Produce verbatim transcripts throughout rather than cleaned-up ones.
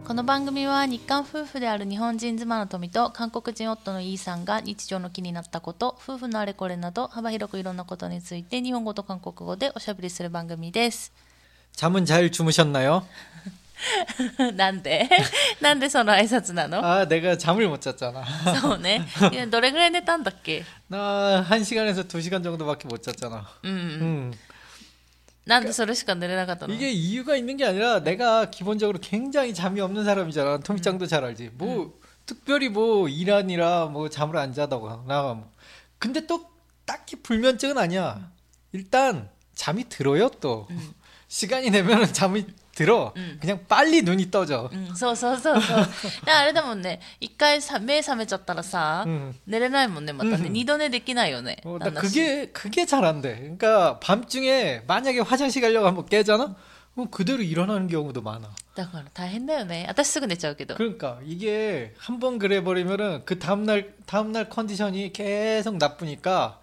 この番組は日韓夫婦である日本人妻の富と韓国人夫のイーさんが日常の気になったこと、夫婦のあれこれなど幅広くいろんなことについて日本語と韓国語でおしゃべりする番組です。 잠은 잘 주무셨나요? なんでなんでその挨拶なの? 아, 내가 잠을 못 잤잖아. そうね。どれぐらい寝たんだっけ? 나 한 시간에서 두 시간 정도밖에 못 잤잖아. 음. 음. なんでそれしか寝れなかったの? 이게 이유가 있는 게 아니라 내가 기본적으로 굉장히 잠이 없는 사람이잖아. 토미짱도 음. 잘 알지. 뭐 음. 특별히 뭐 일하느라 뭐 잠을 안 자다가 나 뭐. 근데 또 딱히 불면증은 아니야. 일단 잠이 들어요 또. 음. 시간이 되면은 잠이 들어. 음. 그냥 빨리 눈이 떠져. うん、そうそうそうそう。だからあれだもんね、一回さ目覚めちゃったらさ、うん、寝れないもんね、またね。二度寝できないよね。 어, 나 그게 그게 잘 안 돼. 그러니까 밤중에 만약에 화장실 가려고 한번 깨잖아? 그럼 그대로 일어나는 경우도 많아. だから大変だよね。私すぐ寝ちゃうけど。 그러니까 이게 한번 그래 버리면은 그 다음 날 다음 날 컨디션이 계속 나쁘니까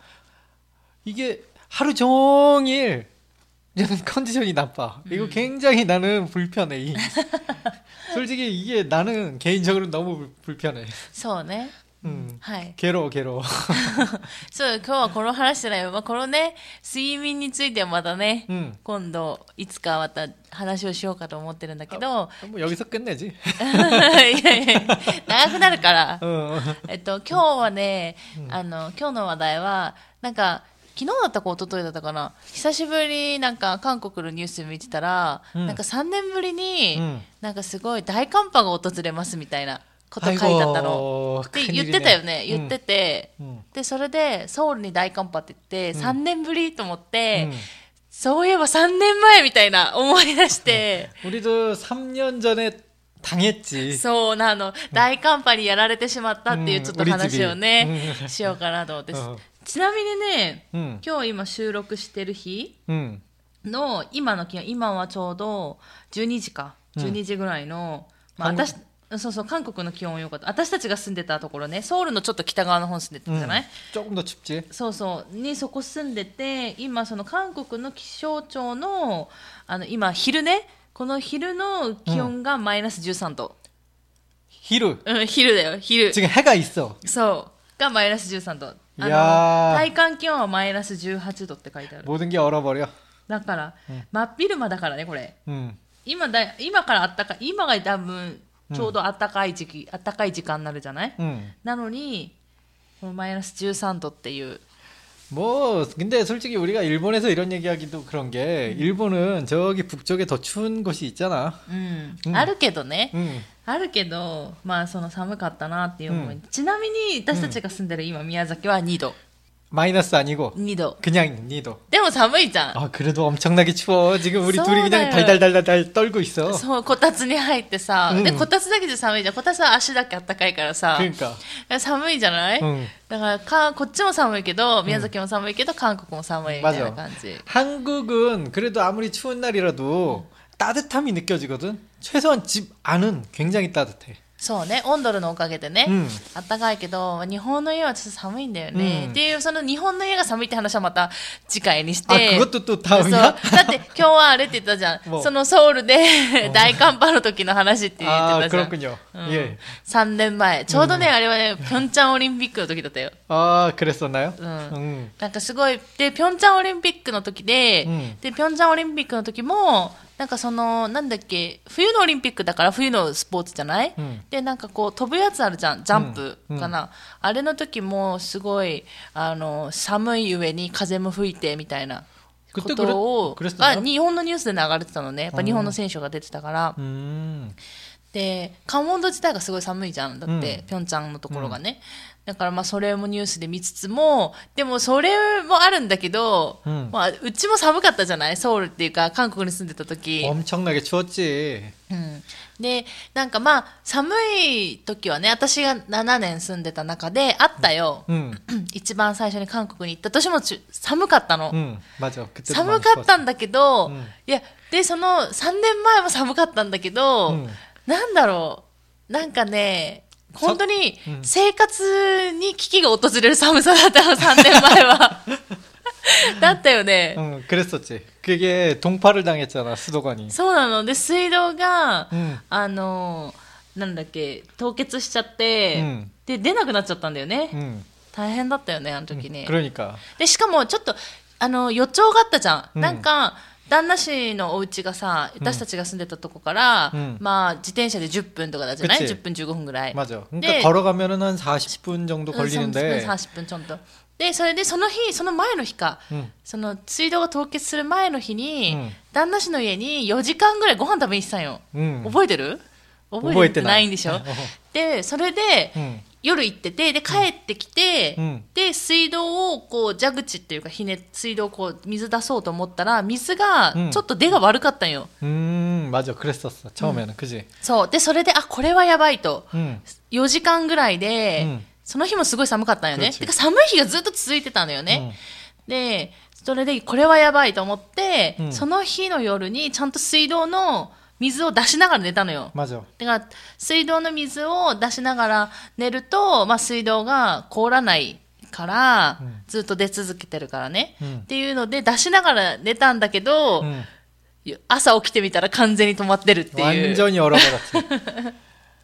이게 하루 종일 컨디션이 나빠. 이거 음. 굉장히 나는 불편해. 이. 솔직히 이게 나는 개인적으로 너무 불편해. そうね。 음. はい。 괴로워, 괴로워. そう、今日はこの話じゃないよ。まあ、このね、睡眠についてはまたね、うん、今度、いつかまた話をしようかと思ってるんだけど。 もう여기서 끝내지. いやいや、長くなるから。えっと、今日はね、あの、今日の話題は、なんか、昨日だったか一昨日だったかな、久しぶりなんか韓国のニュース見てたら、うん、なんかさんねんぶりに、うん、なんかすごい大寒波が訪れますみたいなこと書いてあったの。で言ってたよね、言ってて、うん、でそれでソウルに大寒波って言って、うん、さんねんぶりと思って、うん、そういえばさんねんまえみたいな思い出して、 우리도 삼 년 전에 당했지. そうなの、大寒波にやられてしまったっていうちょっと話をね、うん、しようかなと思って。ちなみにね、うん、今日今収録してる日の今の気温、今はちょうどじゅうにじか、じゅうにじぐらいの、うん、まあ、私、そうそう、韓国の気温良かった。私たちが住んでたところね、ソウルのちょっと北側の方住んでたじゃない？ ちょっと춥지？ そうそうにそこ住んでて、今その韓国の気象庁のあの今昼ね、この昼の気温がマイナスじゅうさんど。 昼？ うん、昼だよ、昼。 지금 해가 있어。 そうがマイナスじゅうさんど。あの体感気温はマイナスじゅうはちどって書いてある。 모든 게 얼어버려。 だから、うん、真っ昼間だからねこれ。 うん、 今だ今からあったかい、今が多分ちょうど暖かい時期、うん、暖かい時間になるじゃない？うん、なのにこのマイナスじゅうさんどっていう。 뭐 근데 솔직히 우리가 일본에서 이런 얘기하기도 그런 게 음. 일본은 저기 북쪽에 더 추운 곳이 있잖아. 음. 음. あるけどね。 음. あるけど、まあその寒かったなっていう思い。 음. ちなみに私たちが住んでる今宮崎はにど。 마이너스 아니고 이 도. 그냥 이 도. でも寒いじゃん。 아, 그래도 엄청나게 추워. 지금 우리 둘이 그냥 달달달달 떨고 있어. そう、こたつに入ってさ、うん、でこたつだけじゃ寒いじゃん。こたつは足だけあったかいからさ。 그러니까. 寒いじゃない？ うん、だからかこっちも寒いけど、宮崎も寒いけど、韓国も寒いみたいな感じ。 한국은 그래도 아무리 추운 날이라도 음. 따뜻함이 느껴지거든. 최소한 집 안은 굉장히 따뜻해. そうね、温度のおかげでね、うん、あったかいけど日本の家はちょっと寒いんだよね、うん、っていうその日本の家が寒いって話はまた次回にして。 あ、그것도 또 다음이야? だって今日はあれって言ったじゃん、そのソウルで大寒波の時の話って言ってたじゃん。 그렇군요. うん、예. さんねんまえちょうどね、うん、あれはねピョンチャンオリンピックの時だったよ。 ああ、그랬었나요? うん、うん、なんかすごいでピョンチャンオリンピックの時で、うん、でピョンチャンオリンピックの時もなんかそのなんだっけ、冬のオリンピックだから冬のスポーツじゃない、うん、でなんかこう飛ぶやつあるじゃん、ジャンプかな、うんうん、あれの時もすごいあの寒い上に風も吹いてみたいなことをあ日本のニュースで流れてたのね。やっぱ日本の選手が出てたから、うん、で関温度自体がすごい寒いじゃん、だって、うん、ピョンチャンのところがね、うん、だからまあそれもニュースで見つつも、でもそれもあるんだけど、うん、まあ、うちも寒かったじゃない、ソウルっていうか韓国に住んでた時。 엄청나게 추웠지。 うん、でなんかまあ寒い時はね、私がななねん住んでた中であったよ、うん、一番最初に韓国に行った年も寒かったの、うん、寒かったんだけど、うん、いやでそのさんねんまえも寒かったんだけど、うん、なんだろう、なんかね本当に生活に危機が訪れる寒さだったのさんねんまえはだったよね。 응, 그랬었지. 그게 동파를 당했잖아, 수도관이. そうなので水道が、 うん、 あのなんだっけ凍結しちゃって、 うん、 で出なくなっちゃったんだよね、 うん、 大変だったよねあの時ね、 うん、그러니까. でしかもちょっとあの予兆があったじゃん、 うん、 なんか旦那氏のお家がさ私たちが住んでたとこから、うん、まあ自転車でじゅっぷんとかだじゃない、じゅっぷんじゅうごふんぐらい。 맞아. 그러니까 걸어가면은 한 사십 분 정도 걸리는데 さんじゅっぷんちょっとでそれでその日その前の日か、うん、その水道が凍結する前の日に、うん、旦那氏の家によじかんぐらいご飯食べに来たんよ、うん、覚えてる？覚えてないんでしょでそれで、うん、夜行っててで帰ってきて、うん、で水道をこう蛇口っていうかひね水道をこう水出そうと思ったら水がちょっと出が悪かったんよ。 うん、맞아、그랬었어。처음에는、그지。 そうでそれであこれはやばいと、うん、よじかんぐらいで、うん、その日もすごい寒かったんよね。てか寒い日がずっと続いてたんだよね。うん、でそれでこれはやばいと思って、うん、その日の夜にちゃんと水道の水を出しながら寝たのよ。だから水道の水を出しながら寝ると、まあ、水道が凍らないから、うん、ずっと出続けてるからね、うん、っていうので出しながら寝たんだけど、うん、朝起きてみたら完全に止まってるっていう。 완전히 얼어버렸지.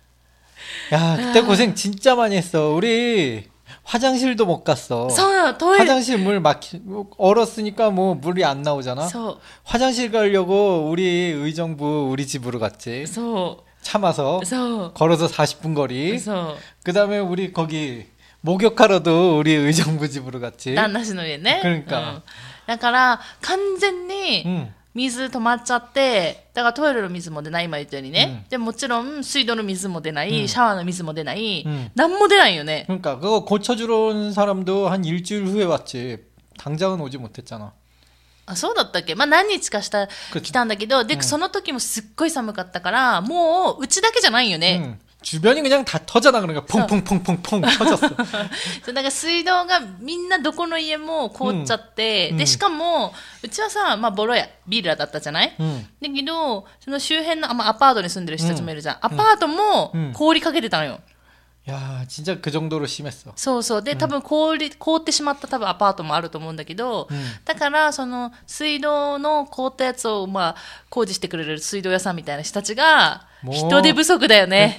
야, 그때 고생 진짜 많이 했어. 우리 화장실도 못 갔어. 화장실 물 막히 얼었으니까 뭐 물이 안 나오잖아. 서. 화장실 가려고 우리 의정부 우리 집으로 갔지. 서. 참아서 서. 걸어서 사십 분 거리. 그 다음에 우리 거기 목욕하러도 우리 의정부 집으로 갔지. 난나시노예ね. 그러니까. 응. だから完全に 응. 水止まっちゃってだからトイレの水も出ない今言ったようにね、うん、でもちろん水道の水も出ない、うん、シャワーの水も出ない、うん、何も出ないよね。 그러니까 그거 고쳐주러 온 사람도 한 일주일 후에 왔지. 당장은 오지 못했잖아. あそうだったっけ。まあ何日かした来たんだけどで、うん、その時もすっごい寒かったからもううちだけじゃないよね、うん 주변이 그냥 다 터져나 그러니까 퐁퐁퐁퐁퐁 터졌어. そうだから水道がみんなどこの家も凍っちゃって、うん、でしかもうちはさまあボロやビラだったじゃない、うん、だけどその周辺の、まあ、アパートに住んでる人たちもいるじゃん、うん、アパートも凍りかけてたのよ。 や진짜 그 정도로 심했어。 そうそうで、うん、多分凍り凍ってしまった多分アパートもあると思うんだけど、うん、だからその水道の凍ったやつをまあ工事してくれる水道屋さんみたいな人たちが人手不足だよね。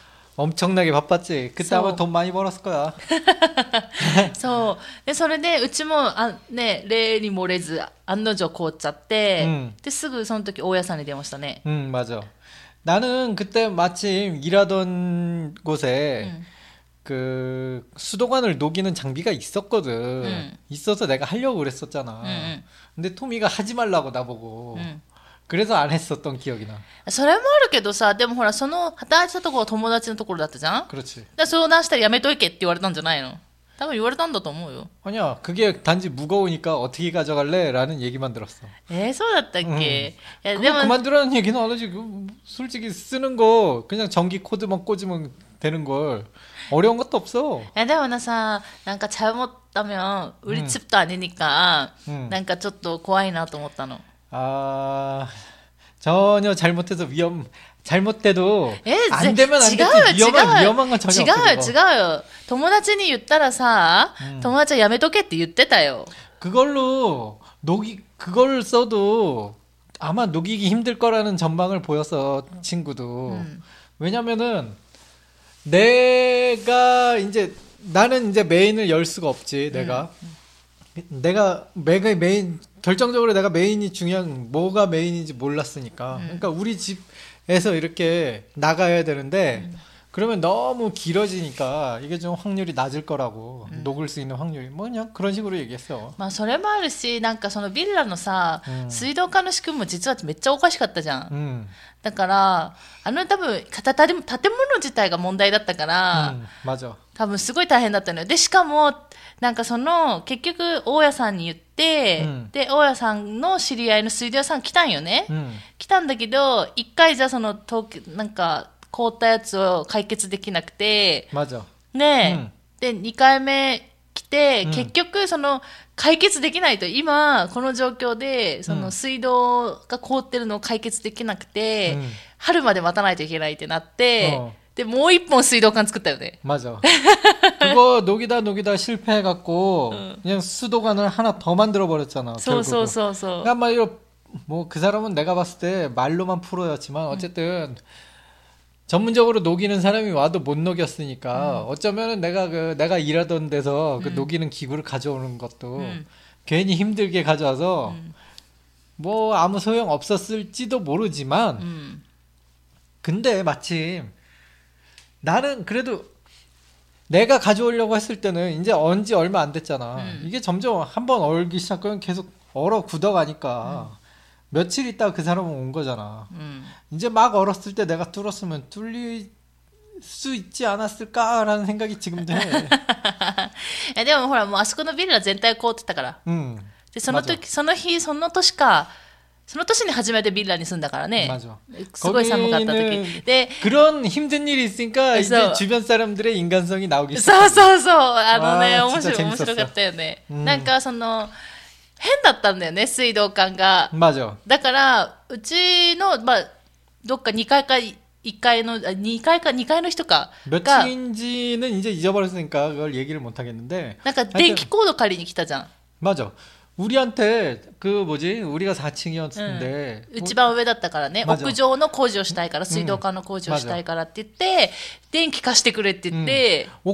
엄청나게 바빴지. 그때 아마 돈 많이 벌었을 거야. そうでそれでうちもあ、ね、例に漏れず案の定凍っちゃって、うん、ですぐその時大家さんに電話したね。 응 맞아. 나는 그때 마침 일하던 곳에 응. 그 수도관을 녹이는 장비가 있었거든. 응. 있어서 내가 하려고 그랬었잖아. 응. 근데 토미가 하지 말라고 나보고. 응. 그래서 안 했었던 기억이 나. それもあるけどさ、でもほらその働いてたところは友達のところだったじゃん。 그렇지. だ相談したらやめといけって言われたんじゃないの？多分言われたんだと思うよ。 아니야, 그게 단지 무거우니까 어떻게 가져갈래?라는 얘기만 들었어. 에, そうだったっけ? 응. 야, 그거 그만두라는 얘기는 안 하지. 솔직히 쓰는 거 그냥 전기 코드만 꽂으면 되는 걸 어려운 것도 없어. 야, でもなさ、なんか잘못하면 우리 집도 아니니까, 응. なんかちょっと怖いなと思ったの. 아 전혀 잘못해서 위험 잘못돼도 안 되면 안 되지. 위험한 위험한 건 전혀 없어. 違う違うよ。友達に言ったらさ、友達はやめとけって言ってたよ. 그걸로 녹이 그걸 써도 아마 녹이기 힘들 거라는 전망을 보였어 친구도. 음. 왜냐면은 내가 이제 나는 이제 메인을 열 수가 없지 내가. 음. 내가 메가 메인 결정적으로 내가 메인이 중요한 뭐가 메인인지 몰랐으니까. 음. 그러니까 우리 집에서 이렇게 나가야 되는데 음. 그러면 너무 길어지니까 이게 좀 확률이 낮을 거라고. 음. 녹을 수 있는 확률이 뭐냐 그런 식으로 얘기했어. まあそれもあるし、なんかそのビラのさ、水道管の仕組みも実はめっちゃおかしかったじゃん。うん、だからあの多分建物自体が問題だったから、うん、맞아。多分すごい大変だったのよ。でしかもなんかその結局大家さんに言って、うん、で大家さんの知り合いの水道屋さん来たんよね、うん、来たんだけど一回じゃそのなんか凍ったやつを解決できなくてね、うん、でにかいめ来て、うん、結局その解決できないと今この状況でその水道が凍ってるのを解決できなくて、うん、春まで待たないといけないってなって、うんでもう一本水道管作ったよね。 맞아。 그거 녹이다 녹이다 실패해갖고 응. 그냥 수도관을 하나 더 만들어버렸잖아. 소소소소. 한마디로 뭐 그 사람은 내가 봤을 때 말로만 프로였지만 어쨌든 응. 전문적으로 녹이는 사람이 와도 못 녹였으니까 응. 어쩌면은 내가 그 내가 일하던 데서 그 응. 녹이는 기구를 가져오는 것도 응. 괜히 힘들게 가져와서 응. 뭐 아무 소용 없었을지도 모르지만 응. 근데 마침 나는 그래도 내가 가져오려고 했을 때는 이제 언지 얼마 안 됐잖아. 음. 이게 점점 한번 얼기 시작하면 계속 얼어 굳어가니까 음. 며칠 있다가 그 사람은 온 거잖아. 음. 이제 막 얼었을 때 내가 뚫었으면 뚫릴 수 있지 않았을까라는 생각이 지금도 해. でもほらもうあそこのビル全体凍ってたから。うん。でその時その日その年か。その年に初めてビラに住んだからね。 맞아. すごい寒かった時。で、 그런 힘든 일이 있으니까 이제 주변 사람들의 인간성이 나오기 시작해. そうそうそう。あのね、面白い面白かったよね。なんかその変だったんだよね、水道管が。 맞아. だからうちのまあどっかにかいかいっかいのにかいかにかいの人か 몇 층인지는 이제 잊어버렸으니까 그걸 얘기를 못 하겠는데. なんか電気コード借りに来たじゃん。 맞아. 우리한테 그 뭐지 우리가 사 층이었는데 응. 一番上だったからね屋上の工事をしたいから水道管の工事をしたいからって言って電気貸してくれって言って 응.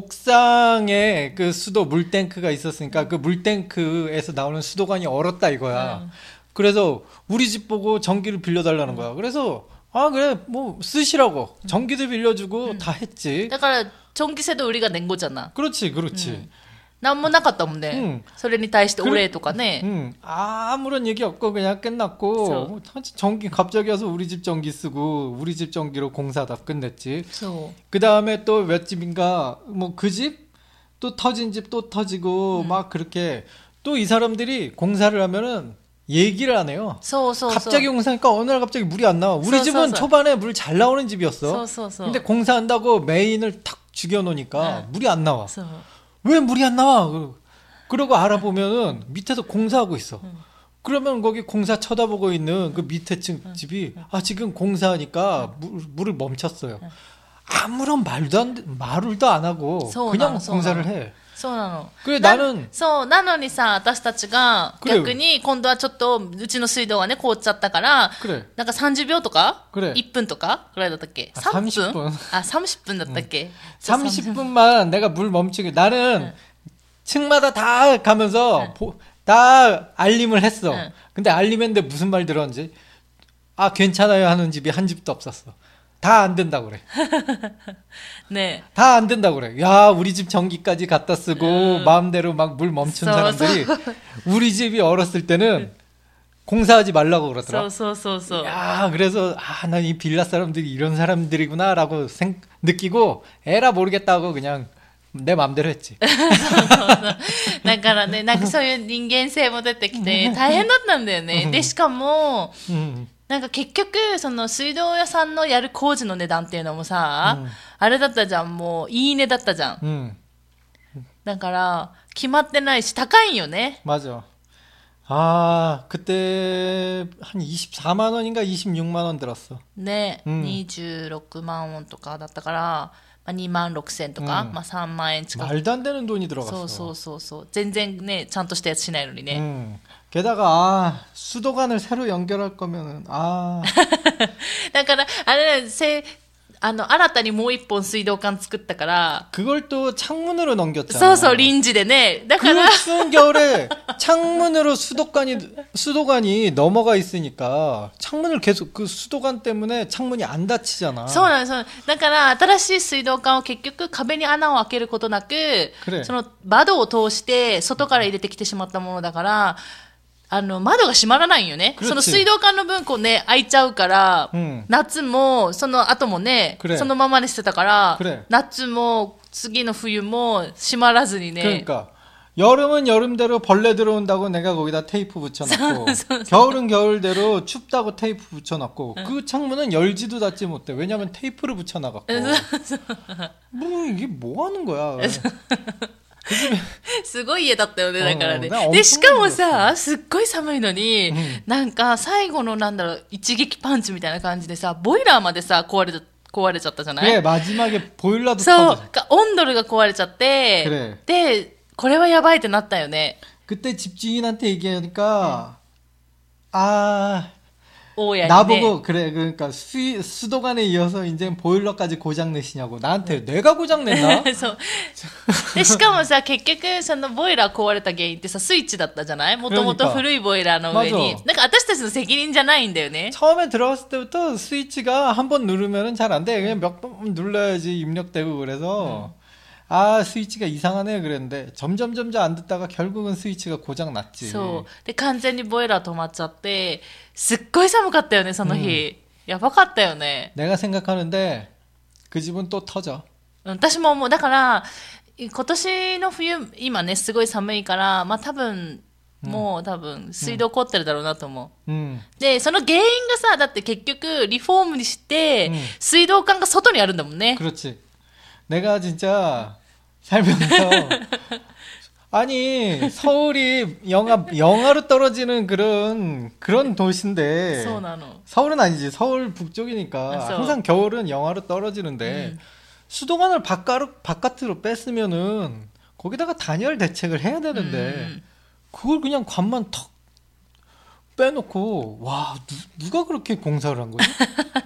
옥상에 그 수도 물탱크가 있었으니까 그 물탱크에서 나오는 수도관이 얼었다 이거야. 응. 그래서 우리 집 보고 전기를 빌려달라는 거야. 그래서 아 그래 뭐 쓰시라고 전기도 빌려주고 응. 다 했지. 그러니까 전기세도 우리가 낸 거잖아. 그렇지 그렇지. 응. なんもなかったもんね、うん、それに対してお礼とかね、 응. 응. 아무런 얘기 없고 그냥 끝났고 전기 갑자기 와서 우리 집 전기 쓰고 우리 집 전기로 공사 다 끝냈지. 그 다음에 또 몇 집인가 뭐 그 집 또 터진 집 또 터지고 응. 막 그렇게 또 이 사람들이 공사를 하면은 얘기를 안 해요. 소소소. 갑자기 공사하니까 어느 날 갑자기 물이 안 나와. 우리 집은 초반에 물 잘 나오는 집이었어. 소소소. 근데 공사한다고 메인을 탁 죽여놓으니까 응. 물이 안 나와. 소. 왜 물이 안 나와? 그러고 알아보면은 밑에서 공사하고 있어. 응. 그러면 거기 공사 쳐다보고 있는 그 밑에 층 응. 집이 응. 아 지금 공사하니까 응. 물, 물을 멈췄어요. 응. 아무런 말도 안 말도 안 하고 그냥 공사를 해. そうなの。 그래 나는 そうなのにさ私たちが逆に今度はちょっとうちの水道がね凍っちゃったからなんかさんじゅうびょうとかいっぷんとかぐらいだったっけさんじゅっぷんあさんじゅっぷんだったっけ 삼십 분만 내가 물 멈추게 나는 층마다 다 가면서 다 알림을 했어. 근데 알림했는데 무슨 말 들었는지 아 괜찮아요 하는 집이 한 집도 없었어. 다 안 된다고 그래. 네. 다 안 된다고 그래. 야, 우리 집 전기까지 갖다 쓰고 음. 마음대로 막 물 멈춘 사람들이 우리 집이 얼었을 때는 공사하지 말라고 그러더라. 소소소소. 야, 그래서 아, 난 이 빌라 사람들이 이런 사람들이구나라고 생, 느끼고 에라 모르겠다고 그냥 내 마음대로 했지. だからね、なんかそういう人間性も出てきて大変だったんだよね。でしかも。うんなんか結局その水道屋さんのやる工事の値段っていうのもさ、うん、あれだったじゃんもういいねだったじゃん、うん、だから決まってないし高いんよね。 맞아. 아 그때 한 이십사만 원인가 이십육만 원 들었어. 네, 음. 이십육만 원とかだったから、まあ、にまんろくせんとか、うん、まあさんまんえん近く。 말도 안 되는 돈이 들어갔어. そうそうそうそう全然ねちゃんとしたやつしないのにね。 음. 게다가 아, 수도관을 새로 연결할 거면은 아. だからあれせあの新たにもう一本水道管作ったから 그걸 또 창문으로 넘겼잖아. そうそう臨時でね。だから 그 추운 겨울에 창문으로 수도관이 수도관이 넘어가 있으니까 창문을 계속 그 수도관 때문에 창문이 안 닫히잖아. そうなんです。だから新しい水道管を結局壁に穴を開けることなく、 그래. その窓を通して外から入れてきてしまったものだから。あの窓が閉まらないよね。その水道管の分こうね開いちゃうから、うん、夏もその後もねそのままにしてたから夏も次の冬も閉まらずにね。 그러니까 여름은 여름대로 벌레 들어온다고 내가 거기다 테이프 붙여놨고 겨울은 겨울대로 춥다고 테이프 붙여놨고 그 창문은 열지도 닫지 못해. 왜냐면 테이프를 붙여놔갖고 뭐 이게 뭐 하는 거야. すごい家だったよねだからね。でしかもさすっごい寒いのに、うん、なんか最後のなんだろう一撃パンチみたいな感じでさボイラーまでさ壊れた壊れちゃったじゃない 그래 마지막에 보일러도 そう 터져. 温度が壊れちゃって 그래. でこれはやばいってなったよね 그때 집주인한테 얘기하니까 아 오야 나보고 그래 그러니까 수, 수도관에 이어서 이제 보일러까지 고장 내시냐고 나한테 내가 고장 냈나? そうでしかもさ結局そのボイラー壊れた原因ってさスイッチだったじゃないもともと古いボイラーの上に 맞아. なんか私たちの責任じゃないんだよね 처음에 들어갔을 때부터 스위치가 한 번 누르면은 잘 안 돼. 그냥 몇 번 눌러야지 입력되고 그래서 음. 아 스위치가 이상하네 그랬는데 점점 점점 안 듣다가 결국은 스위치가 고장 났지. そうで完全にボイラー止まっちゃってすっごい寒かったよねその日、やばかったよね 내가 생각하는데 그 집은 또 터져. うん私も思うだから今年の冬今ねすごい寒いからまあ多分もう多分水道凍ってるだろうなと思う、 음. でその原因がさだって結局リフォームにして、 うん、 水道管が外にあるんだもんね 그렇지. 내가 진짜 살면서 아니 서울이 영하 영하로 떨어지는 그런 그런 도시인데 そうなの 서울은 아니지 서울 북쪽이니까 그래서- 항상 겨울은 영하로 떨어지는데 음. 수도관을 바깥으로 바깥으로 뺐으면은 거기다가 단열 대책을 해야 되는데 음. 그걸 그냥 관만 턱 빼놓고 와 누, 누가 그렇게 공사를 한 거지?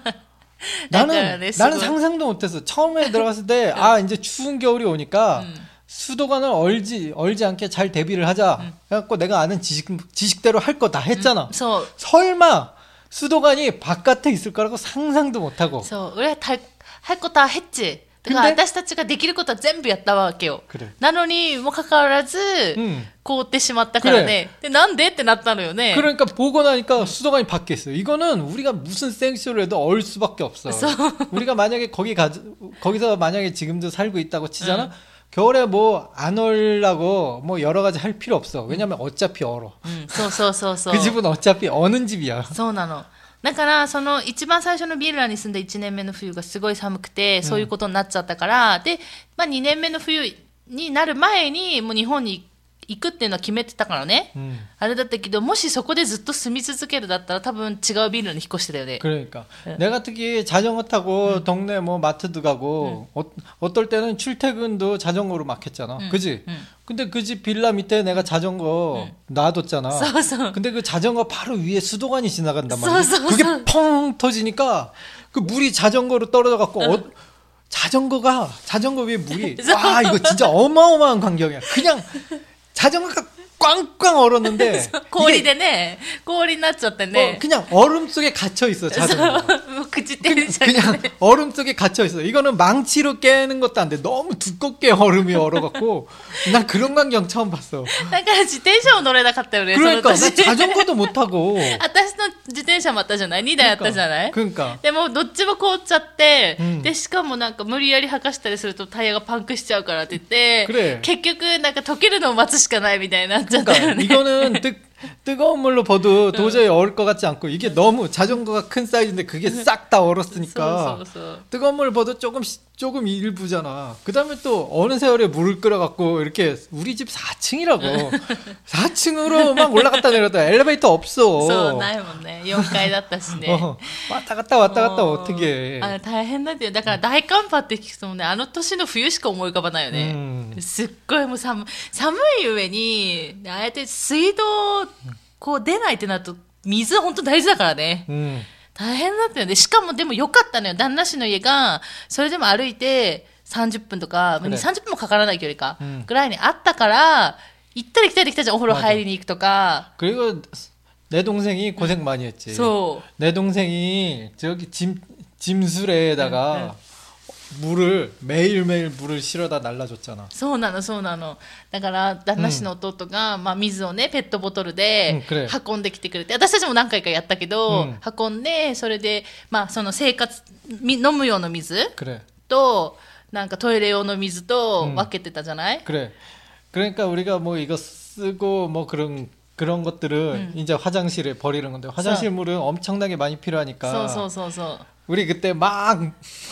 나는 약간 나는 수고- 상상도 못했어. 처음에 들어갔을 때 아 이제 추운 겨울이 오니까 음. 수도관을 얼지 얼지 않게 잘 대비를 하자. 음. 그래갖고 내가 아는 지식 지식대로 할 거 다 했잖아. そう 설마 수도관이 바깥에 있을 거라고 상상도 못하고. そう俺はたはいことはヘッチだから 근데- 私たちができることは全部やったわけよ 그래. なのにもかかわらず、 응. 凍ってしまったからねでなんでってなったのよね 그러니까 보고 나니까 수도관이 밖에 있어요. 이거는 우리가 무슨 생쇼를 해도 얼 수밖에 없어. 우리가 만약에 거기 가 거기서 만약에 지금도 살고 있다고 치잖아. 응. 겨울에 뭐 안 얼라고 뭐 여러 가지 할 필요 없어. 왜냐면 어차피 얼어. うんそうそうそうそう 그 집은 어차피 어는 집이야. そうなのだからその一番最初のビルラに住んだいちねんめの冬がすごい寒くてそういうことになっちゃったから、で、まあ、にねんめの冬になる前にもう日本に行くっていうのは決めてたからね、 음. あれだったけどもしそこでずっと住み続けるだったら多分違うビルに引っ越してたよね 그러니까 응. 내가 특히 자전거 타고 동네 뭐 마트도 가고 어, 어떨 때는 출퇴근도 자전거로 막 했잖아. 응. 그지? 응. 근데 그 집 빌라 밑에 내가 자전거 놔뒀잖아. そうそう 근데 그 자전거 바로 위에 수도관이 지나간단 말이야. 써, 써, 그게 써. 펑 터지니까 그 물이 자전거로 떨어져 갖고 어, 자전거가 자전거 위에 물이 와 이거 진짜 어마어마한 광경이야. 그냥 자전거가 꽝꽝 얼었는데 氷でね氷になっちゃってね 어, 그냥 얼음 속에 갇혀 있어 자전거. もう朽ちてるじゃん 그냥 얼음 속에 갇혀 있어. 이거는 망치로 깨는 것도 안 돼. 너무 두껍게 얼음이 얼어갖고 난 그런 광경 처음 봤어. だから自転車も乗れなかったよね 그러니까 その 나 年 자전거도 못 타고. 私の自転車もあったじゃないにだいあったじゃない 그러니까. でもどっちも凍っちゃって、 うんでしかもなんか無理やり履かしたりするとタイヤがパンクしちゃうからって言ってくれ結局なんか溶けるのを待つしかないみたいになっちゃったよ 그러니까 ね 이거는 뜨, 뜨거운 물로 버도 도저히 얼을 것 같지 않고 이게 너무 자전거가 큰 사이즈인데 그게 싹 다 そう 얼었으니까 そうそう 뜨거운 물 버도 조금 조금 일부잖아. 그다음에 또 어느 세월에 물을 끓여갖고 이렇게 우리 집 사 층이라고 사 층으로 막 올라갔다 내렸다 엘리베이터 없어. そうないもんねよんかいだったしね 어, 왔다 갔다 왔다 갔다 もう 어떻게 あれ大変だってよだから大寒波って聞くともねあの年の冬しか思い浮かばないよね、 うんすっごいもう寒寒い上にああやって水道こう出ないってなると水本当大事だからね 음. 大変だったよねしかもでもよかったのよ旦那氏の家がそれでも歩いてさんじゅっぷんとか、 ねさんじゅっぷんもかからない距離か、 うんぐらいにあったから行ったり来たり来たじゃんお風呂入りに行くとか 그리고 내 동생이 고생 많이 했지. そう 내 동생이 저기 짐 짐수레에다가 물을 매일매일 물을 실어다 날라줬잖아. そうなのそうなのだから旦那氏の弟が、まあ、水をねペットボトルでうんくれ運んできてくれて、私たちも何回かやったけど、 うん運んでそれで、まあ、その生活み飲む用の水 그래. となんかトイレ用の水とうん分けてたじゃない、 그래. 그러니까 우리가 뭐 이거 쓰고 뭐 그런 그런 것들은 음. 이제 화장실에 버리는 건데 화장실 물은 엄청나게 많이 필요하니까 そうそうそうそう 우리 그때 막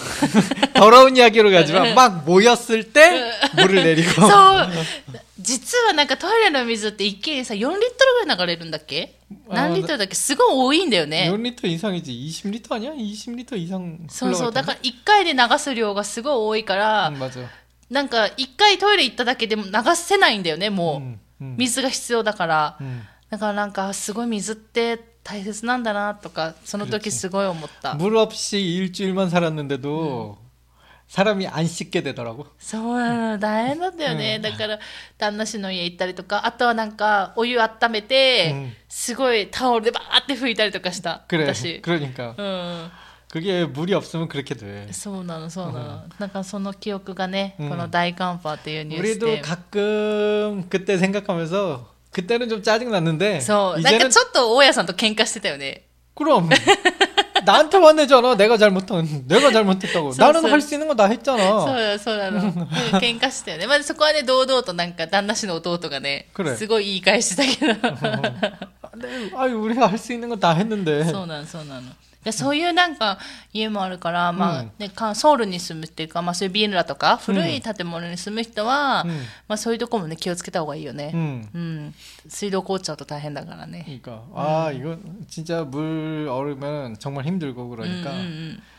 더러운 이야기로 가지만 막 모였을 때 물을 내리고 そう実はなんかトイレの水って一気にさよんリットルぐらい流れるんだっけ何リットルだっけすごい多いんだよね 사 리터 이상이지 이십 리터 아니야? 이십 리터 이상 そうそう 흘러갈 だか 텐데 らいっかいで流す量がすごい多いから 음, 맞아 なんかいっかいトイレ行っただけでも流せないんだよねも 음, う 음, 水が必要だから 음. だからなんかすごい水って大切なんだなとかその時すごい思った 물 없이 일주일만 살았는데도 음. 사람이 안 씻게 되더라고 そうなの大変だったよね、だから旦那氏の家行ったりとかあとはなんかお湯温めて、 うんすごいタオルでバーって拭いたりとかした 그래 私 그러니까 うん 그게 물이 없으면 그렇게 돼 そうなのそうなの、なんかその記憶がね、 うんこの大寒波っていうニュース 우리도 で 가끔 그때 생각하면서 그때는 좀 짜증 났는데 そうなんか 이제는 ちょっと大家さんと喧嘩してたよね 그럼 나한테 화내잖아 내가 잘못한 내가 잘못했다고 써, 나는 써. 할 수 있는 거 다 そう 했잖아 だそうなの、うん喧嘩してたよねまずそこはね堂々となんか旦那氏の弟がねくれすごい言い返してたけど 네, 아유 우리가 할 수 있는 거 다 했는데 そうなのそうなのでそういうなんか家もあるから、まあうんね、かソウルに住むっていうか、まあ、そういうビルラとか古い建物に住む人は、 うんまあ、そういうとこもね気をつけた方がいいよね、 음. うん、水道凍っちゃうと大変だからね 그러니까 아 이거 진짜 물 얼으면 정말 힘들고 うん 그러니까 うんうん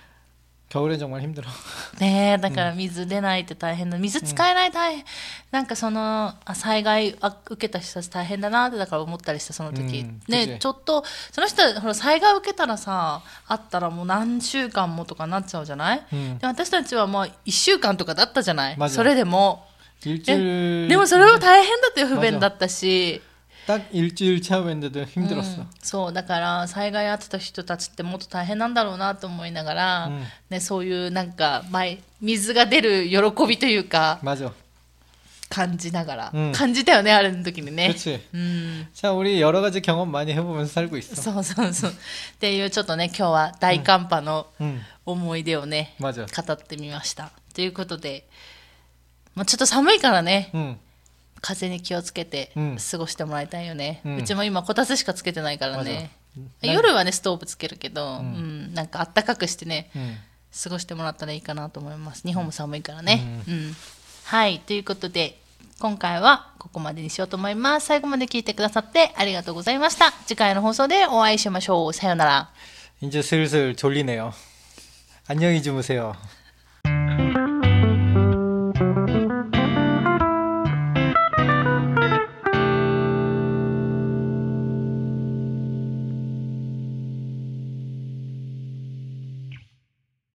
겨울엔 정말 힘들어 ねえだから水出ないって大変だ水使えない大変、なんかそのあ災害あ受けた人たち大変だなってだから思ったりしたその時、 うんね 그치 ちょっとその人はほら災害受けたらさあったらもう何週間もとかなっちゃうじゃない、 음. で私たちはまあいっしゅうかんとかだったじゃない 맞아 それでも 일주일 でもそれは大変だって不便だったし 딱 일주일 체험했는데도 힘들었어 うんそうだから災害あってた人たちってもっと大変なんだろうなと思いながら、 うんね、そういうなんか前水が出る喜びというか 맞아 感じながら、 うん感じたよねあれの時にね 그치 うん 자 우리 여러 가지 경험 많이 해보면서 살고 있어 そうそうそうっていうちょっとね今日は大寒波の 음. 思い出をね、 맞아 語ってみましたということで、まあ、ちょっと寒いからね 음. 風に気をつけてうん過ごしてもらいたいよね、 ううんちも今こたつしかつけてないからね、 맞아. 夜はねストーブつけるけど、 ううんんなんかあったかくしてね 음. 過ごしてもらったらいいかなと思います日本も寒いからね、うんはいということで今回はここまでにしようと思います最後まで聞いてくださってありがとうございました次回の放送でお会いしましょうさようなら 이제 슬슬 졸리네요 안녕히 주무세요